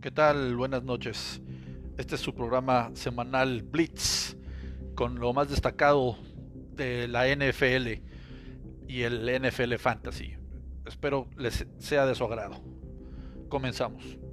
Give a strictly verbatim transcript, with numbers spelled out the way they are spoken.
¿Qué tal? Buenas noches. Este es su programa semanal Blitz con lo más destacado de la N F L y el N F L Fantasy. Espero les sea de su agrado. Comenzamos.